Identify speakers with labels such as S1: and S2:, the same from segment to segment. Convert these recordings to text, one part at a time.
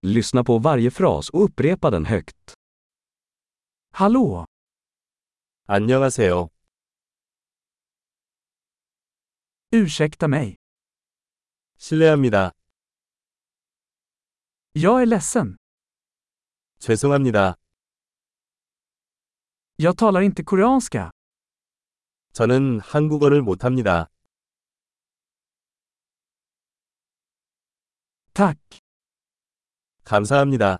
S1: Lyssna på varje fras och upprepa den högt.
S2: Hallå!
S3: 안녕하세요.
S2: Ursäkta mig.
S3: 실례합니다.
S2: Jag är ledsen.
S3: 죄송합니다.
S2: Jag talar inte koreanska.
S3: 저는 한국어를 못합니다.
S2: Tack.
S3: 감사합니다.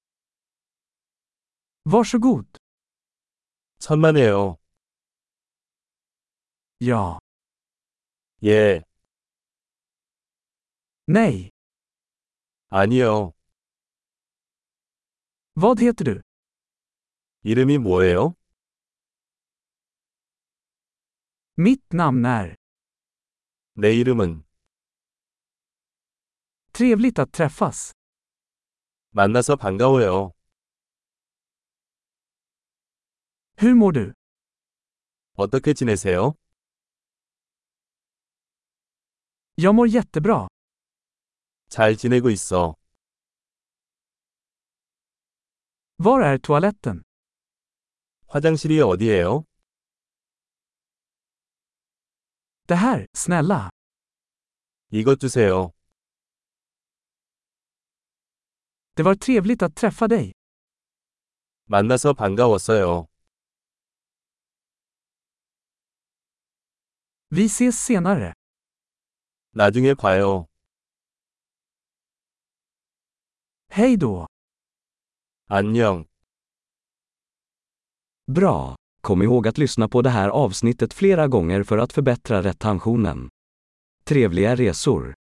S2: Varsågod.
S3: 천만에요.
S2: Ja.
S3: 예,
S2: Nej.
S3: 아니요.
S2: Vad heter du?
S3: 이름이 뭐예요?
S2: Mitt namn är.
S3: 내 이름은.
S2: Trevligt att träffas.
S3: 만나서 반가워요.
S2: Hur mår du?
S3: 어떻게 지내세요?
S2: Jag mår jättebra.
S3: 잘 지내고 있어.
S2: Var är toaletten?
S3: 화장실이 어디예요?
S2: Det här, snälla.
S3: 이것 주세요.
S2: Det var trevligt att träffa dig.
S3: 만나서 반가웠어요.
S2: Vi ses senare.
S3: 나중에 봐요.
S2: Hej då.
S3: 안녕.
S1: Bra! Kom ihåg att lyssna på det här avsnittet flera gånger för att förbättra retentionen. Trevliga resor!